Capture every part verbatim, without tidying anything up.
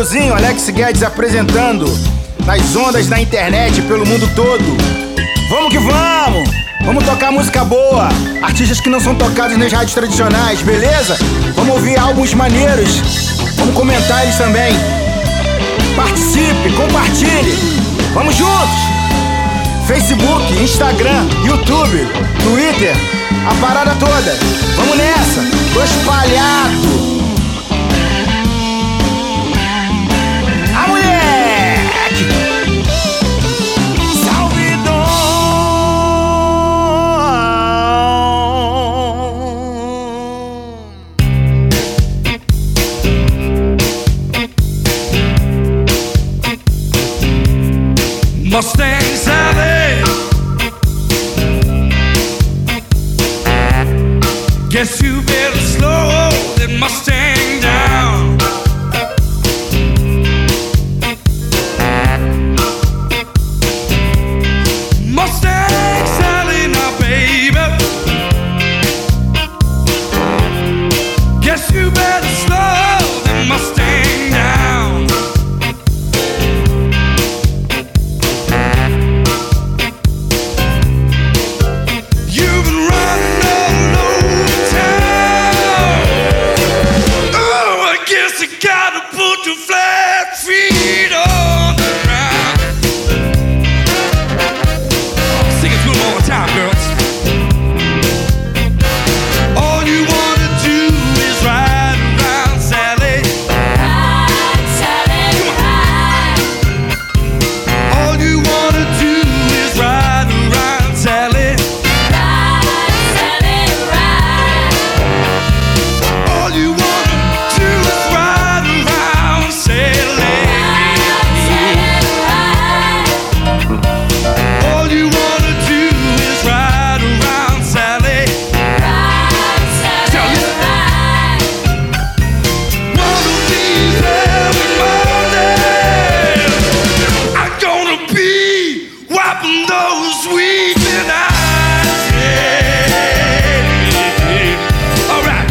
euzinho, Alex Guedes apresentando nas ondas da internet pelo mundo todo. Vamos que vamos! Vamos tocar música boa, artistas que não são tocados nas rádios tradicionais, beleza? Vamos ouvir álbuns maneiros, vamos comentar eles também. Participe, compartilhe, vamos juntos! Facebook, Instagram, YouTube, Twitter, a parada toda. Vamos nessa, tô espalhado. A moleque! Salvidon! Mustang Sally, guess you better slow that Mustang down. Mustang Sally, now baby, guess you better slow that Mustang down. You've been running all over town. Oh, I guess you gotta put your flat feet on the ground. Sing it to 'em all the time, girls. All you wanna do is ride around, Sally. Ride, Sally, ride. All you wanna do is ride around, Sally. Ride, Sally, ride. All you wanna do is ride around, Sally. Ride, Sally, ride. All you wanna do is ride around, Sally. Ride, Sally, ride. One of these every morning, I'm gonna be wiping those weeping eyes. Yeah. All right.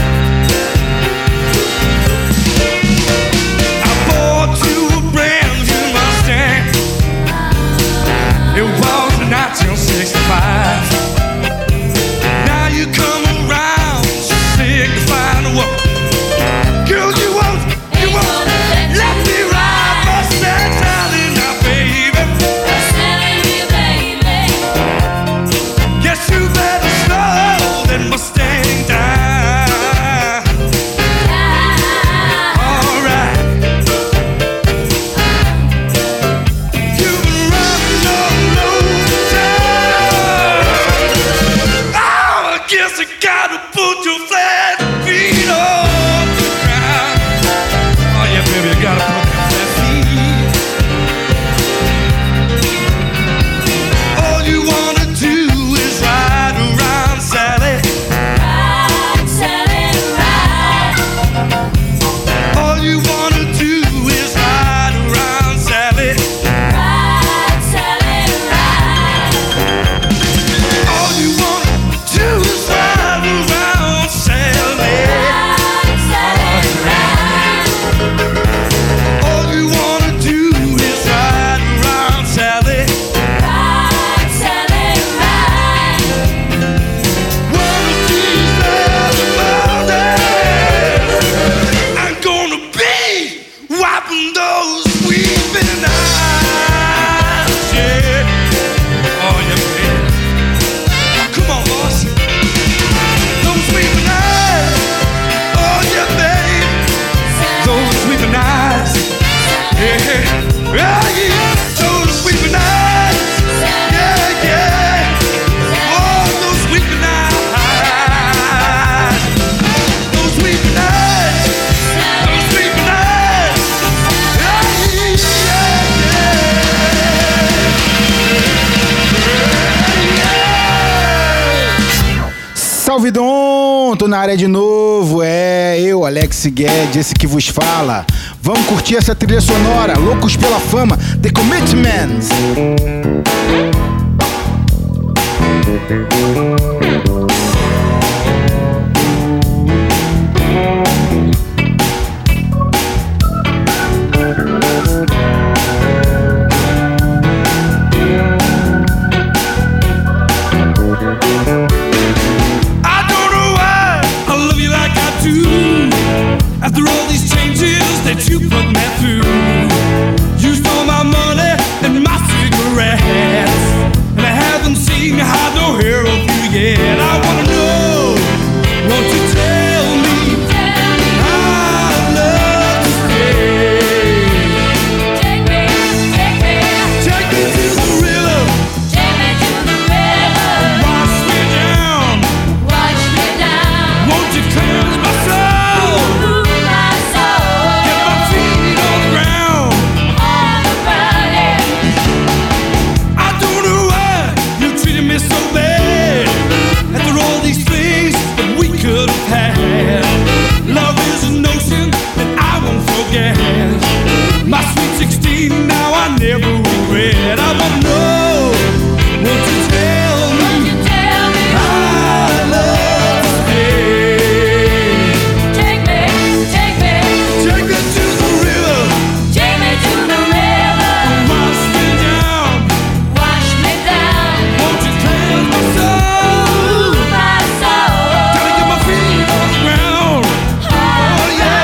I bought you a brand new Mustang. It was in nineteen sixty-five. Now you come around signifying the world. Girl, you won't, you won't let me ride Mustang Sally now, baby. Sally, baby. Guess you better slow that Mustang down. All right. You've been running all over town. Oh, I guess I gotta put your flat feet on the ground. Oh yeah, baby, I gotta put your flat feet. All you wanna do is ride around, Sally. Ride, Sally, ride. All you wanna do is ride around, Sally. Ride, Sally, ride. All you wanna do is ride around, Sally. Ride, Sally, ride. All you wanna do is ride around, Sally. Ride, Sally, ride. One of these other mornings, I'm gonna be wiping those weeping eyes. Yeah. Oh yeah, baby. Come on, boss. Those weeping eyes. Oh yeah, baby. Those weeping eyes. Yeah. Oh yeah. Those weeping eyes. Yeah, yeah. Oh, those weeping eyes. Those weeping eyes. Those weeping eyes. Yeah, yeah, yeah. Salvidon, tô na área de novo, é eu, Alex Guedes, esse que vos fala. Vamos curtir essa trilha sonora, Loucos pela Fama, The Commitments. After all these changes that you put me through, you stole my money and my cigarettes, and I haven't seen hide nor hair of you yet. I wanna know, won't you tell me I'd love to stay? Take me, take me, Take me to the river, take me to the river. wash me down. Wash me down. Won't you cleanse my soul? Ooh, my soul. Get my feet on the ground. On the ground, yeah. I don't know why you treated me so bad. After all these things that we could have had, love is an ocean that I won't forget. My sweet sixteen, now I never regret. I wanna know, won't you tell me Won't you tell me? I'd love to stay? Take me, take me, Take me to the river, take me to the river. wash me down. Wash me down. Won't you cleanse my soul? Ooh, my soul. Gotta get my feet on the ground. Oh, yeah.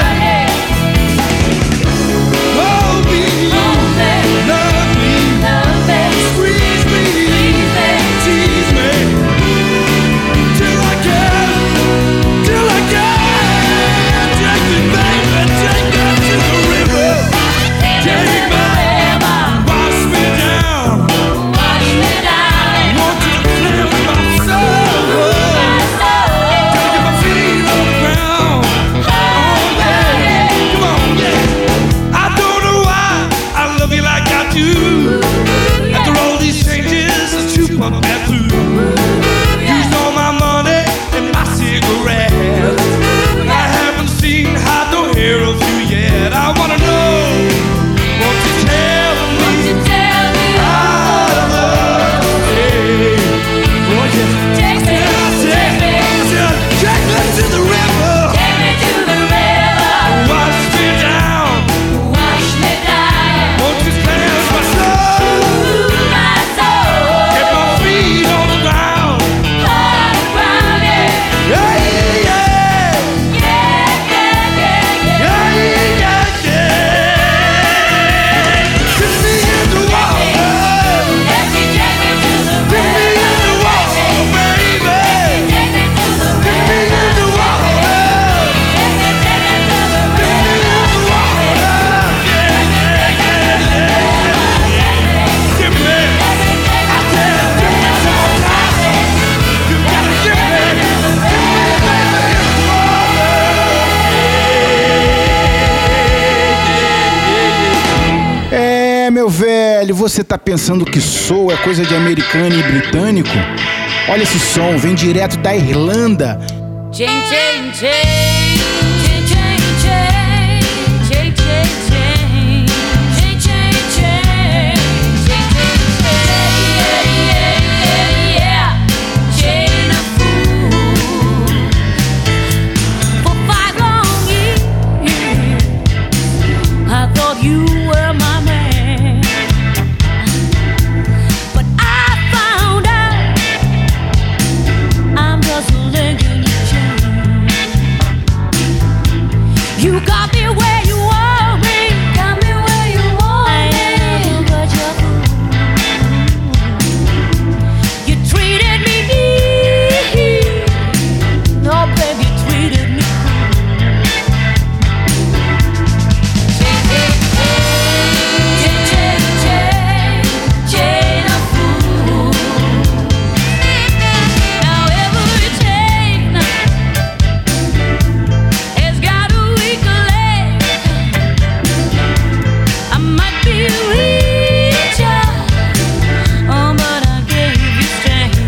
Hold me, Hold me, love me, love me, squeeze me, please me. tease me, till I can, till I can. Take me, baby, take me to the river. Take me, River. wash me down. Wash me down. Won't you cleanse my soul? My soul. Gotta get my feet on the ground. Oh, yeah. Come on, yeah. I don't know why I love you like I do. After all these changes that you put me through, used all my money and my cigarettes. I haven't seen hide nor hair of you yet. I wanna know, won't you tell me Won't you tell me? I'd love to stay? Oh yeah, Take me, take me, take me to the river, take me to the river. wash me down. Wash me down. Won't you cleanse my soul? Ooh, my soul. Get my feet on the ground. On the ground, yeah. Yeah, yeah, yeah. Yeah, yeah, yeah, yeah. Yeah, yeah, yeah. Get me in the water. Take me, take me to the Get me in the river. water, baby. Take me to the Get me river. in the water. Take me, take me to the Get me in river. the water. Yeah, yeah, yeah, yeah. Give me. I said, give me some time. You gotta give me. Give me, baby, in the water. É, meu velho, você tá pensando que soul é coisa de americano e britânico? Olha esse som, vem direto da Irlanda. Chain, chain, chain. Chain, chain, chain. Chain, chain, chain. Chain, chain, chain. Chain, chain, chain. Yeah, yeah, yeah, yeah. Chain of fool. For five long years, I thought you were my man. But I found out I'm just a link in your chain. You got me where you want me, got me where you want me, but you're fool. You treated me mean, no baby, you treated me Chain, chain, chain, chain of fool. Now every chain has got a weak leg. I might be richer, oh, but I gave you strength.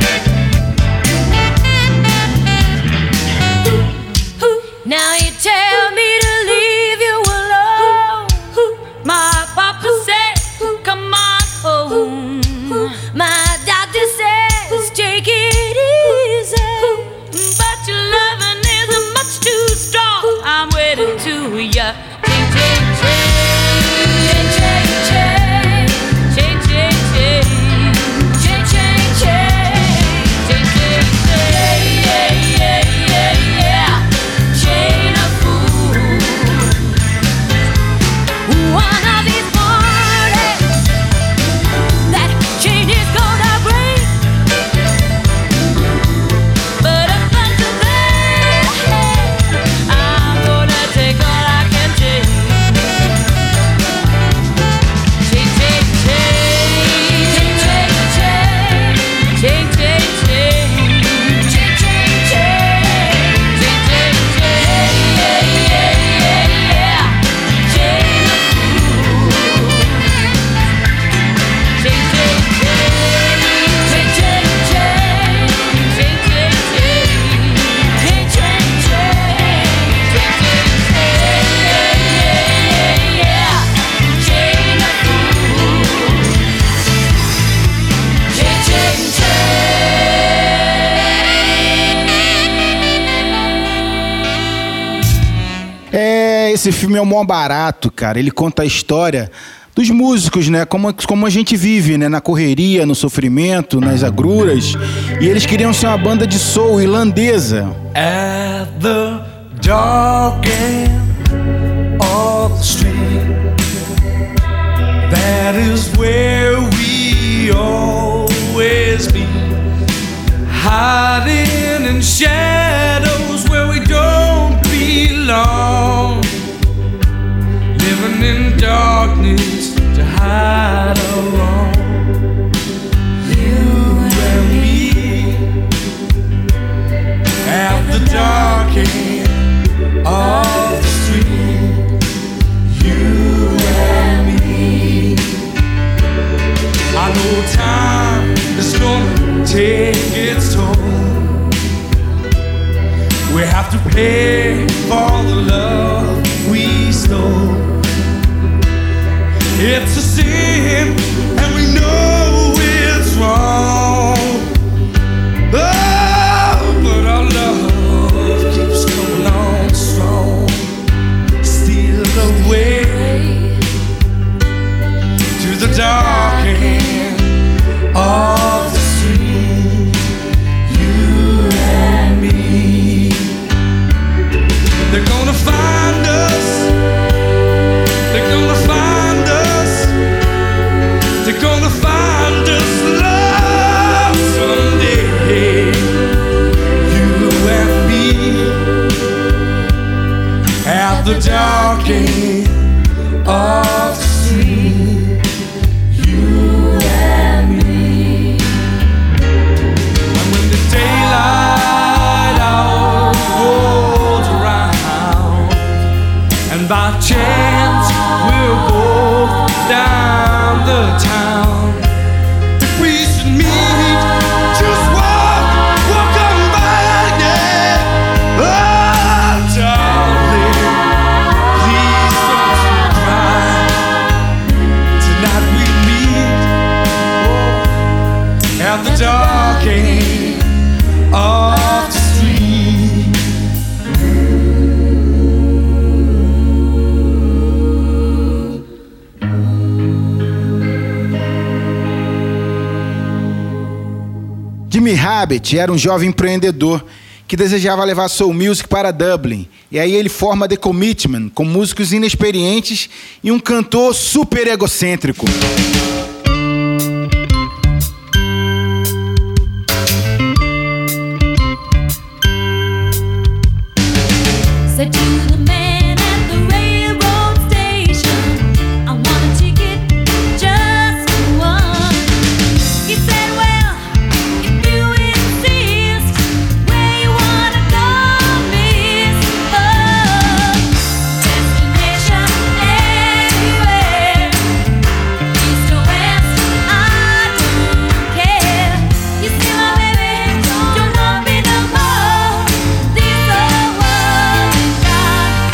Now you tell me to leave you alone. My papa said, come on home. My doctor says, take it easy. But your loving isn't much too strong. I'm waiting to ya. Chain, chain, chain. Chain, chain, chain. Chain, chain, chain. Chain, chain, chain. Chain, chain, chain. Yeah, yeah, yeah, yeah. Chain of fool. É, esse filme é o maior barato, cara. Ele conta a história dos músicos, né? Como, como a gente vive, né? Na correria, no sofrimento, nas agruras. E eles queriam ser uma banda de soul irlandesa. At the dark end of the street, that is where we always be, hiding in shadows where we don't belong, living in darkness to hide alone. You and me at the dark end of the street. You and me. I know time is gonna take its toll. We have to pay for the love we stole. It's a sin, and we know it's wrong. Oh, but our love keeps coming on strong. Steal the way to the dark end of the street. You and me. They're gonna find us. They're gonna find us. They're gonna find us, love, someday. You and me at the dark end of the street. You and me. And when the daylight hour rolls around, and by chance we're both down the town, if we should meet, just walk, walk on by, yeah. Oh, darling, please don't you cry. Tonight we meet, oh, at the dark end of the street. Jimmy Rabbit era um jovem empreendedor que desejava levar soul music para Dublin. E aí ele forma The Commitment, com músicos inexperientes e um cantor super egocêntrico. Said to the man at the railroad station, I want a ticket just for one. He said, well, if you insist, where you wanna go, miss? Oh, destination anywhere, east or west, I don't care. You see my baby, don't love me no more. This old world is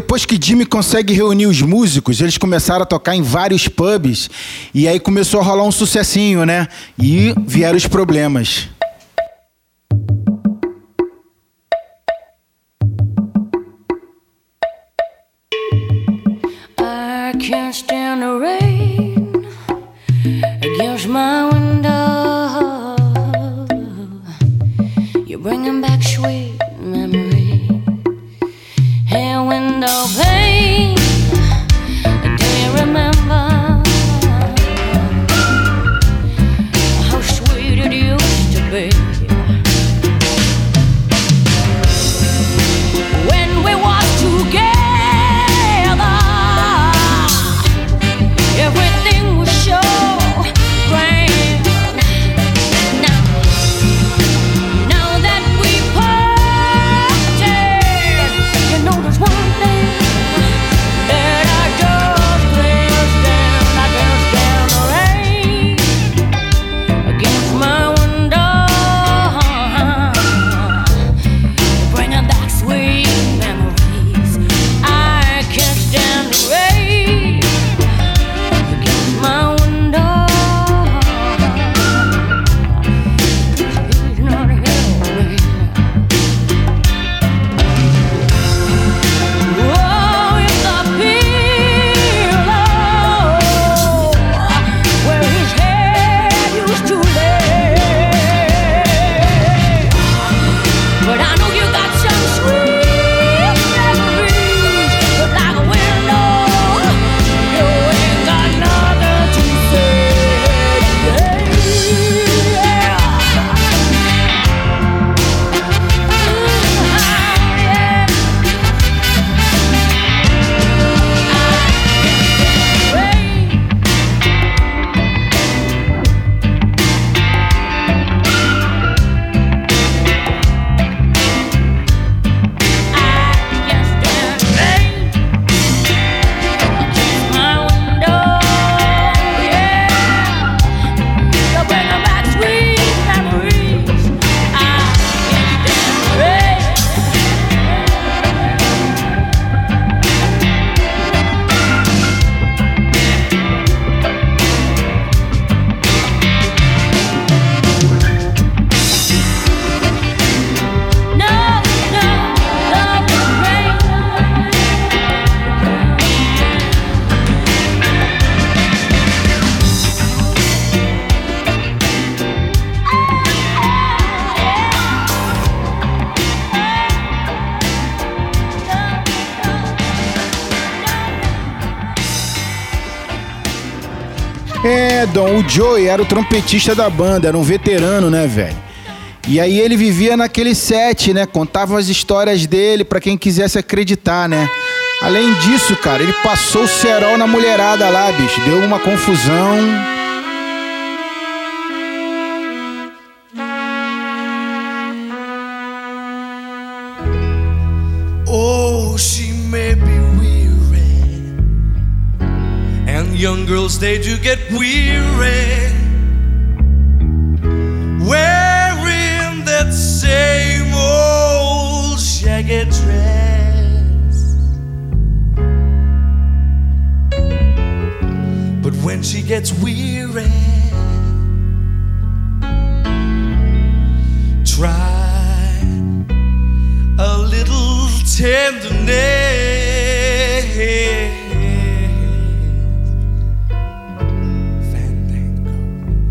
depois que Jimmy consegue reunir os músicos, eles começaram a tocar em vários pubs e aí começou a rolar um sucessinho, né? E vieram os problemas. I can't stand the rain against my window. You're bringing back sweet memories. Hey, window pane, do you remember how sweet it used to be? When we walked together, everything was so grand. Now, now that we parted, you know there's one thing that I just can't stand. I can't stand the rain against my window, bringing back sweet memories. I can't stand the rain against my window. He's not helping. Oh, it's the pillow where his head used to lay. But I know you got some sweet memories, but like a window, you ain't got nothing to say. Yeah. É, Dom, o Joey era o trompetista da banda, era um veterano, né, velho? E aí ele vivia naquele set, né? Contava as histórias dele pra quem quisesse acreditar, né? Além disso, cara, ele passou o cerol na mulherada lá, bicho. Deu uma confusão. Oh, she may be weary, and young girls, they do get weary, wearing that same old shaggy dress. But when she gets weary, try a little tenderness. Fandango.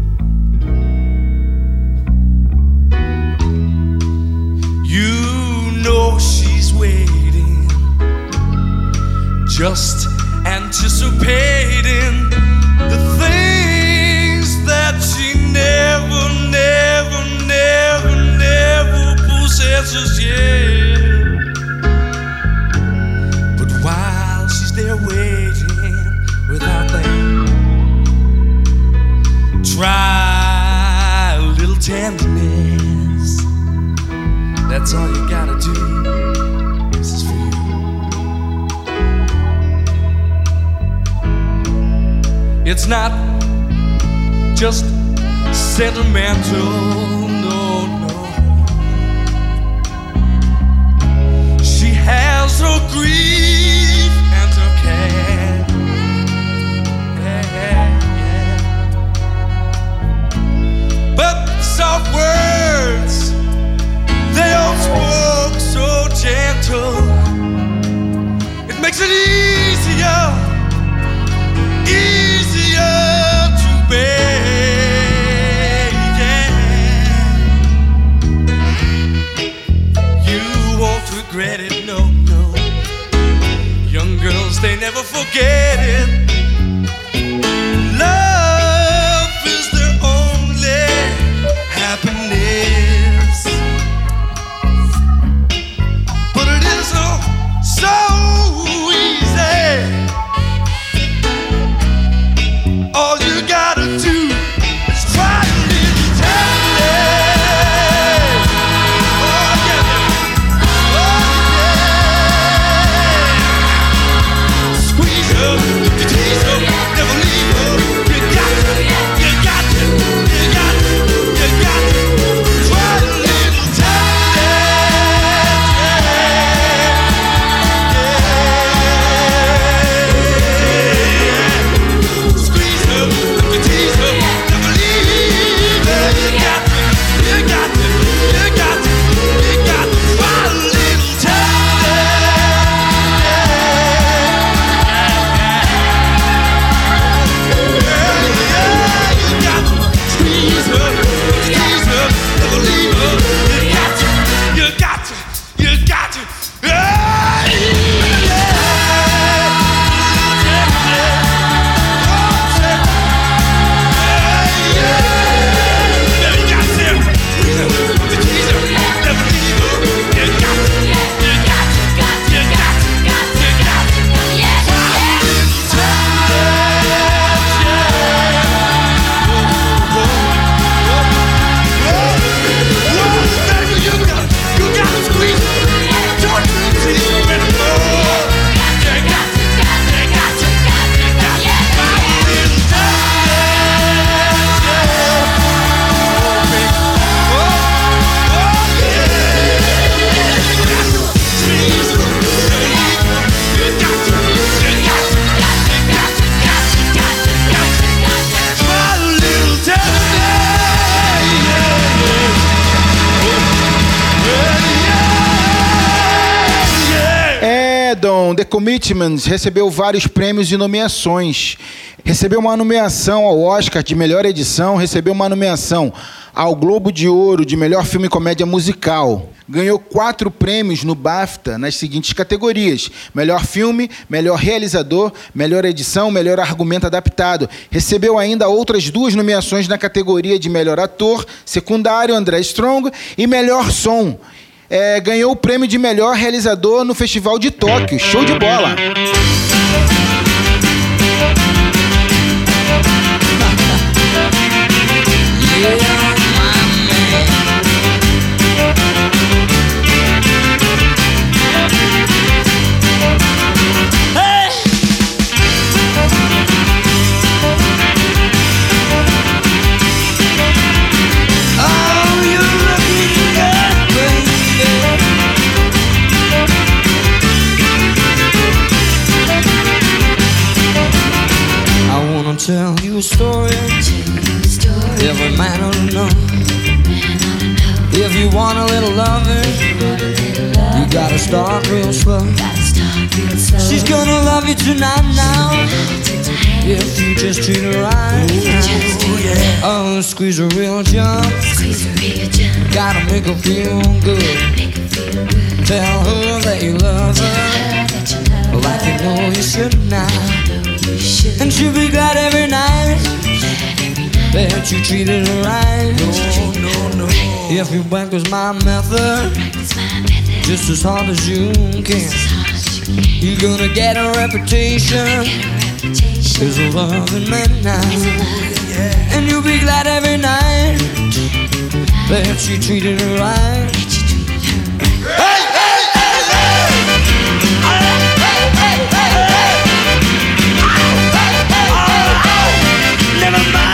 You know she's waiting, just anticipating the things that she never, never, never, never possesses yet. But while she's there waiting without them, try a little tenderness. That's all you gotta do. This is for you. It's not just sentimental, no, no. She has her grief forget it. Love is the only happiness, but it isn't so easy. All you gotta do is try a little time. Oh yeah, oh yeah. Squeeze her, you tease her, never leave her. You got to, you got to, you got to, you got to try a little time. Squeeze her, you tease her, never leave her. You got to, you got to, you got to, you got to try a little The Commitments recebeu vários prêmios e nomeações. Recebeu uma nomeação ao Oscar de melhor edição, recebeu uma nomeação ao Globo de Ouro de melhor filme e comédia musical. Ganhou quatro prêmios no BAFTA nas seguintes categorias: melhor filme, melhor realizador, melhor edição, melhor argumento adaptado. Recebeu ainda outras duas nomeações na categoria de melhor ator secundário, André Strong, e melhor som. É, ganhou o prêmio de melhor realizador no Festival de Tóquio. Show de bola! Tell you a story, every man ought to know. If you want a little loving, you gotta start real slow. She's gonna love you tonight now, if you just treat her right. Oh, squeeze her real jump, gotta make her feel good. Tell her that you love her, like you know you should now. And she'll be glad every night that you treated her right. No, no, no. If you practice my method just as hard as you can, you're gonna get a reputation as a loving man now. And you'll be glad every night that you treated her right. Hey, hey, hey, hey! Never mind.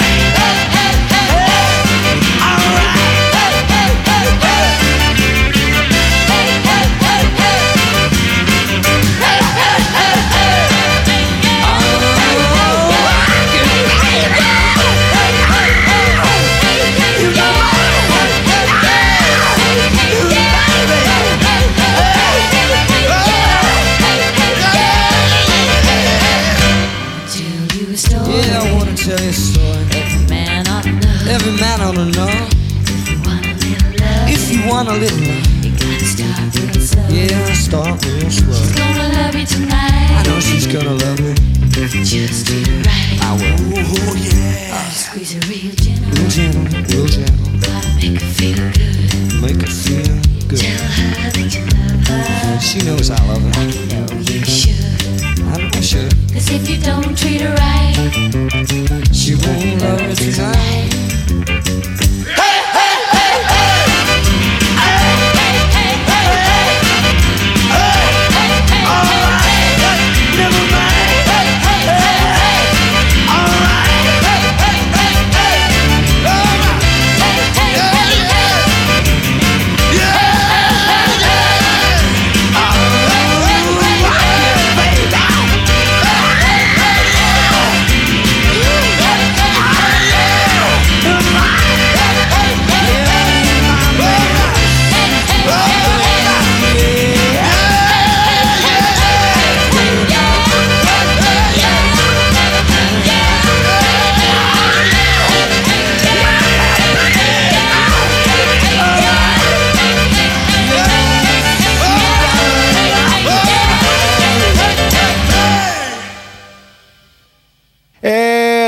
Tell you a story. Every man ought to know. Every man ought to know. If you want a little love, you gotta start real slow. Yeah, start real slow. She's gonna love you tonight. I know she's gonna love me.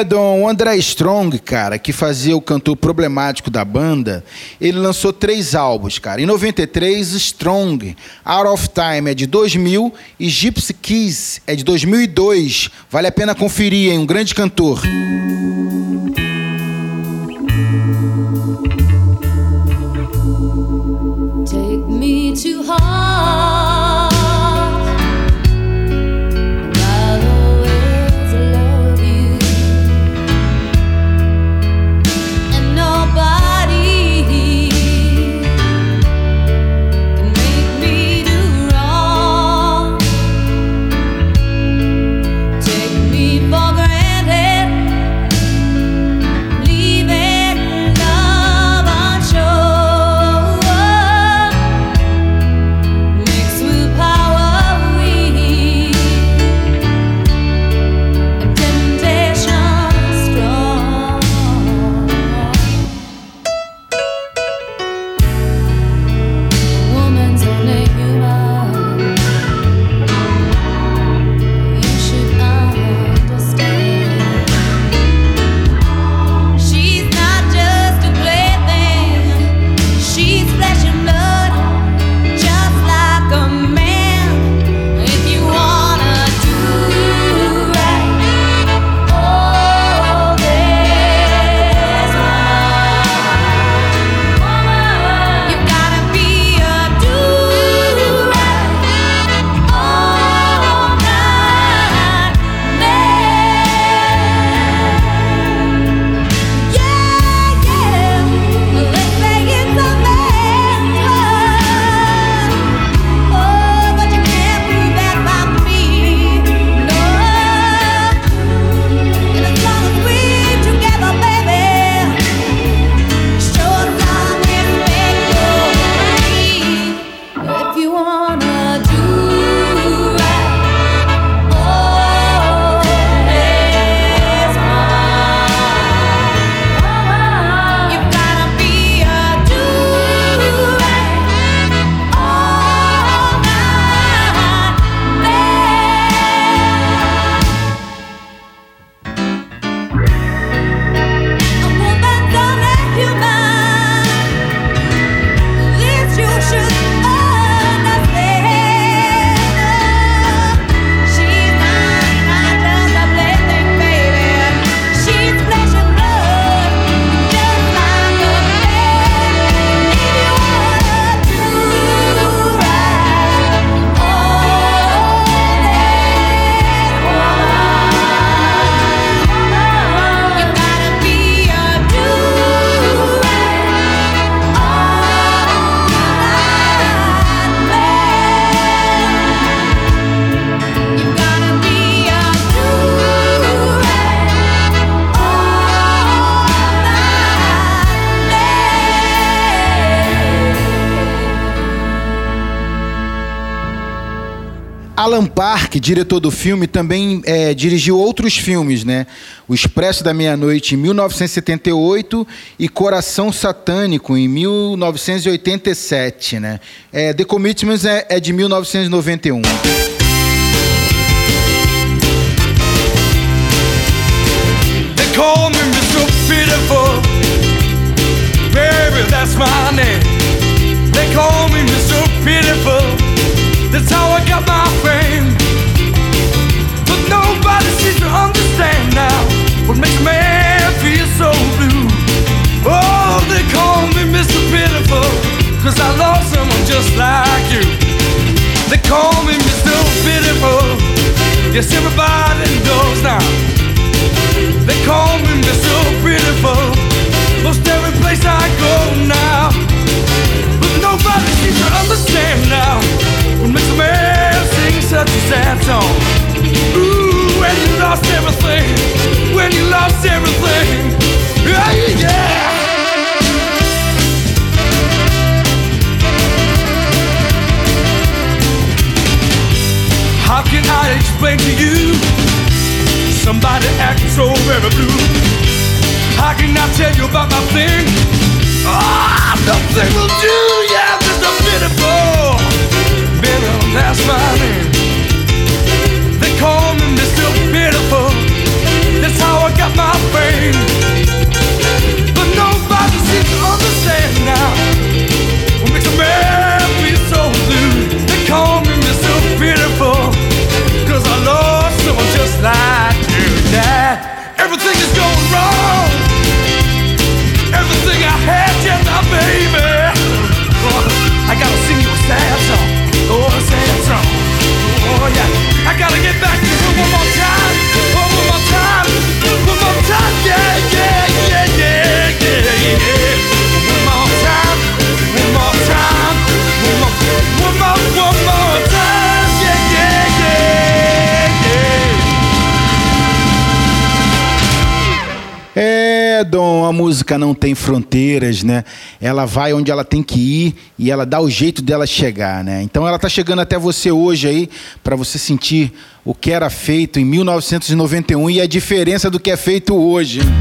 Brandon, o André Strong, cara, que fazia o cantor problemático da banda, ele lançou três álbuns, cara. Em noventa e três, Strong, Out of Time é de dois mil e Gypsy Kiss é de dois mil e dois. Vale a pena conferir, hein? Um grande cantor. Take me to heart. Alan Park, diretor do filme, também é, dirigiu outros filmes, né? O Expresso da Meia-Noite, em mil novecentos e setenta e oito, e Coração Satânico, em mil novecentos e oitenta e sete, né? É, The Commitments é, é de mil novecentos e noventa e um. They call me mister Pitiful, baby, that's my name. They call me mister Pitiful. That's how I got my fame. But nobody seems to understand now what makes a man feel so blue. Oh, they call me mister Pitiful, cause I lost someone just like you. They call me mister Pitiful, yes, everybody knows now. They call me mister Pitiful, most every place I go now. But nobody seems to understand now what makes a man sing such a sad song. Ooh, when you lost everything, when you lost everything, yeah, yeah. How can I explain to you somebody acting so very blue? How can I tell you about my thing? Ah, oh, nothing will do, yeah, Mister Pitiful. Pitiful, that's my name. They call me Mister Pitiful. That's how I got my É, Dom, a música não tem fronteiras, né? Ela vai onde ela tem que ir e ela dá o jeito dela chegar, né? Então ela tá chegando até você hoje aí para você sentir o que era feito em mil novecentos e noventa e um e a diferença do que é feito hoje, hein?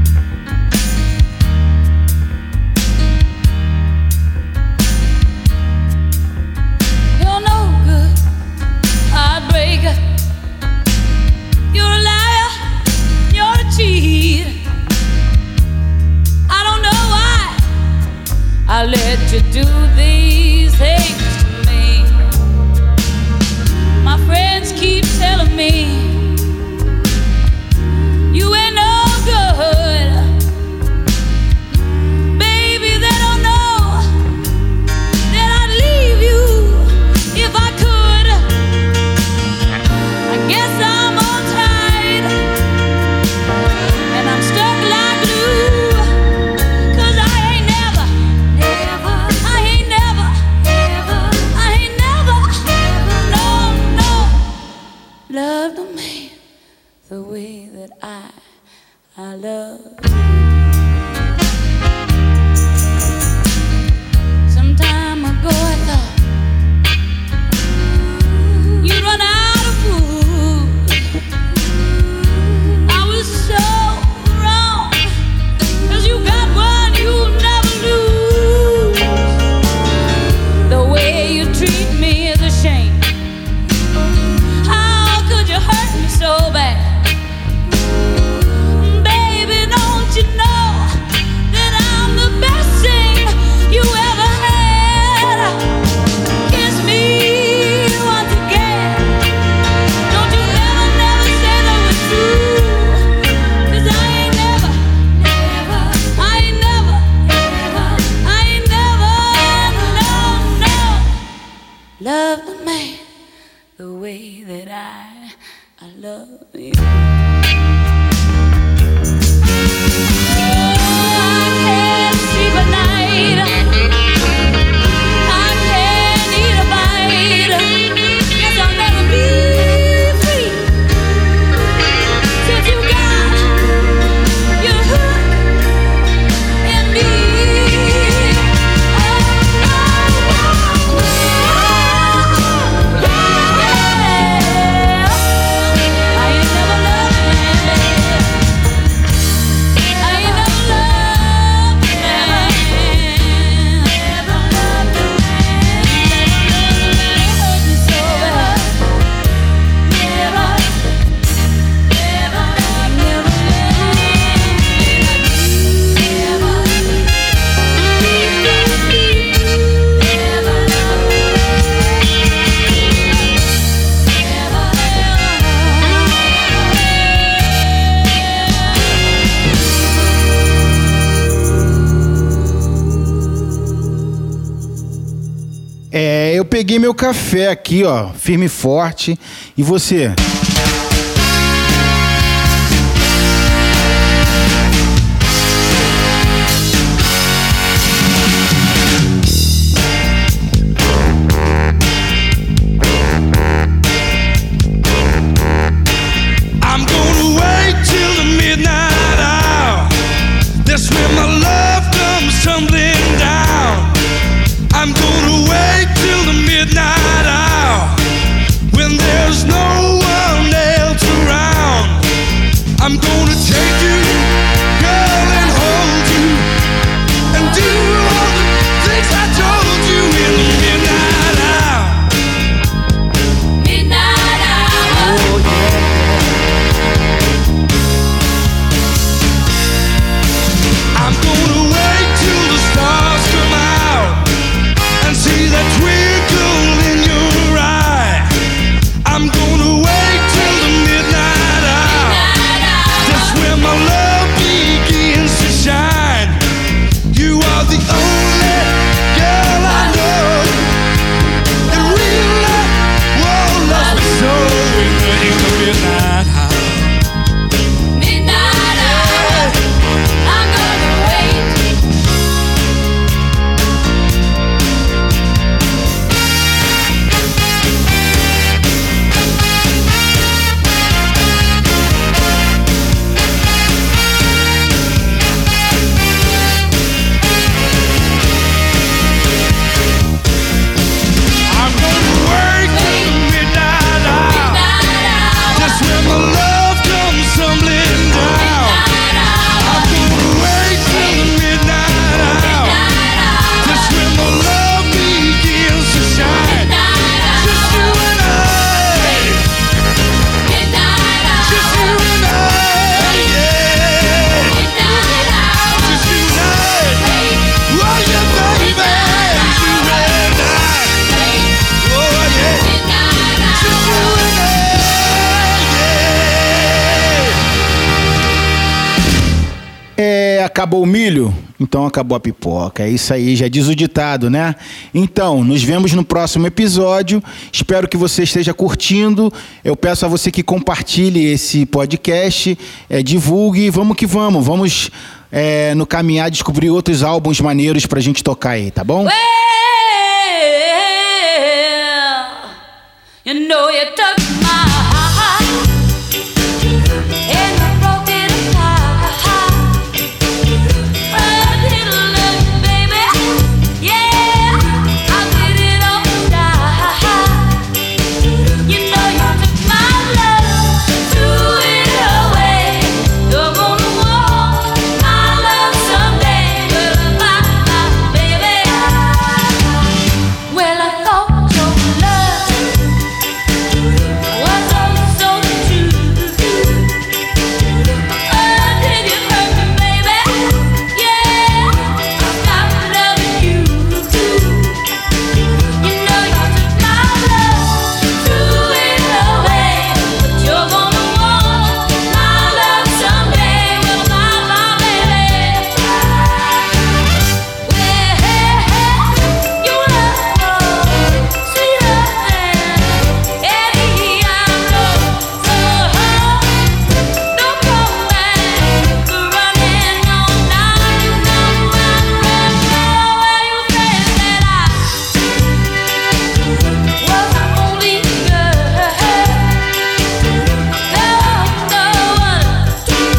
I let you do these things to me. My friends keep telling me you ain't no good. Baby, they don't know that I'd leave you if I could. I guess I'm all tied and I'm stuck like glue, 'cause I ain't never love the man the way that I, I love you. Some time ago I thought you'd run out of food. I was so wrong, 'cause you got one you'll never lose. The way you treat me is a shame. You hurt me so bad. Baby, don't you know that I'm the best thing you ever had? Kiss me once again. Don't you never, never say that was true, 'cause I ain't never, never, I ain't never, never, I ain't never, no, no, love the man the way that I I love you. I can't sleep at night. I can't eat a bite. Guess I'll never be free since you got your hook in me. É, eu peguei meu café aqui, ó, firme e forte. E você? I'm gonna wait till the midnight hour. That's when my love comes tumbling down. I'm gonna wait till the midnight hour, when there's no one acabou o milho? Então acabou a pipoca. É isso aí, já diz o ditado, né? Então, nos vemos no próximo episódio. Espero que você esteja curtindo. Eu peço a você que compartilhe esse podcast, é, divulgue. Vamos que vamos. Vamos é, no caminhar descobrir outros álbuns maneiros pra gente tocar aí, tá bom? Well, you know you took my heart and you broke it apart. A little love, baby, yeah, I did it all right. You know you took my love, threw it away. You're gonna want my love someday, well, my, my baby. Well, I thought your love was oh so true. Oh, did you hurt me, baby? Yeah, I stopped loving you. You know you took my love, threw it away, but you're gonna want my love someday, well, my, my baby. Well, your love was sweeter than any I know. So don't go back running on. Now you know I'm running. Where you said that I was the only girl. There was no one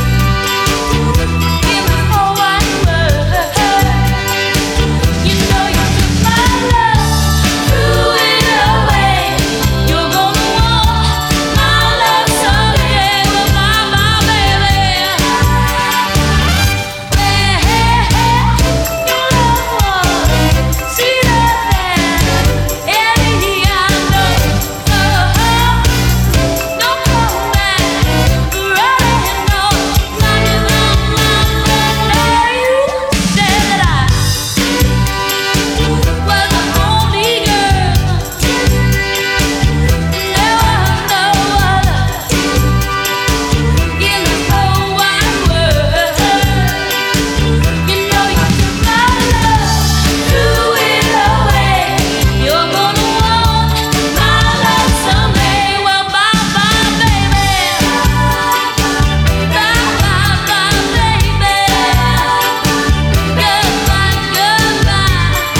in the whole wide world. You know you took my love, threw it away. You're gonna want my love someday, well, my, my baby. Well, your love was sweeter than any I know. So don't come back running on. Now you know you said that I was the only girl. There was no other in this whole wide world. You know you took my love, threw it away. You're gonna want my love someday, well, bye bye, baby. Bye bye, bye, baby. Goodbye, goodbye.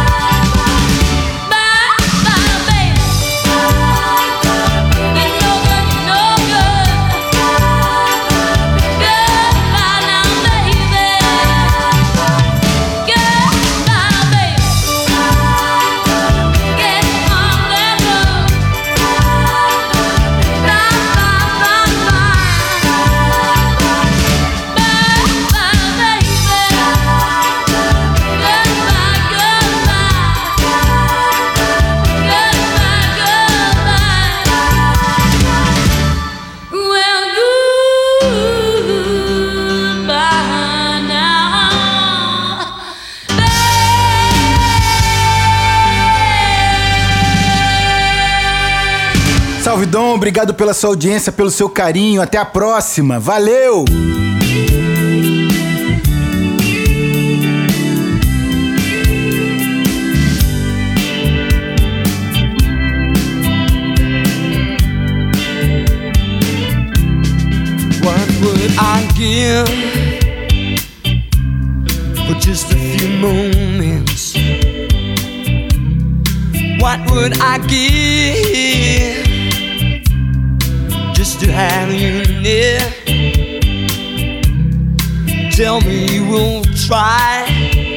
Bye bye, baby. You know good, you know good. Goodbye now, baby. Goodbye, baby. Get on that road. Bye bye, bye bye. Bye bye, baby. Goodbye, goodbye. Goodbye, goodbye. Well, goodbye now, baby. Salve, Dom. Obrigado pela sua audiência, pelo seu carinho. Até a próxima. Valeu! What would I give for just a few moments? What would I give just to have you near? Tell me you will try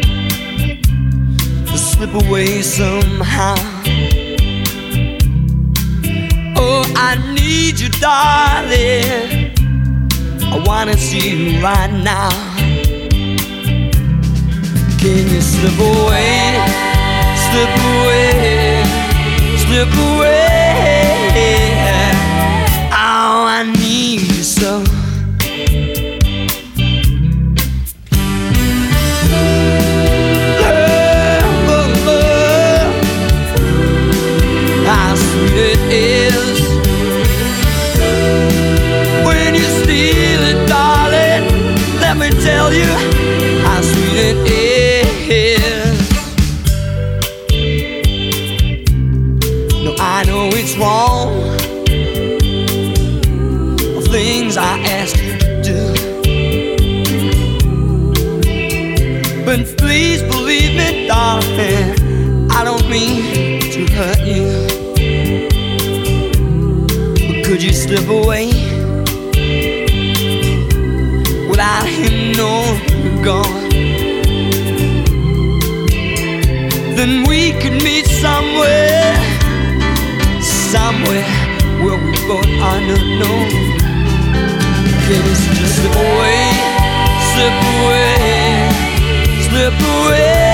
to slip away somehow. Oh, I need you, darling. I wanna see you right now. Can you slip away, slip away, slip away? Oh, I need you so. Love, love, how sweet it is when you steal it, darling. Let me tell tell you how sweet it is. No, I know it's wrong, the things I ask you to do, but please believe me, darling, I don't mean to hurt you. But could you slip away without him knowing you're gone? Then we could meet somewhere, somewhere where we both are not known. Can you just slip away, slip away, slip away?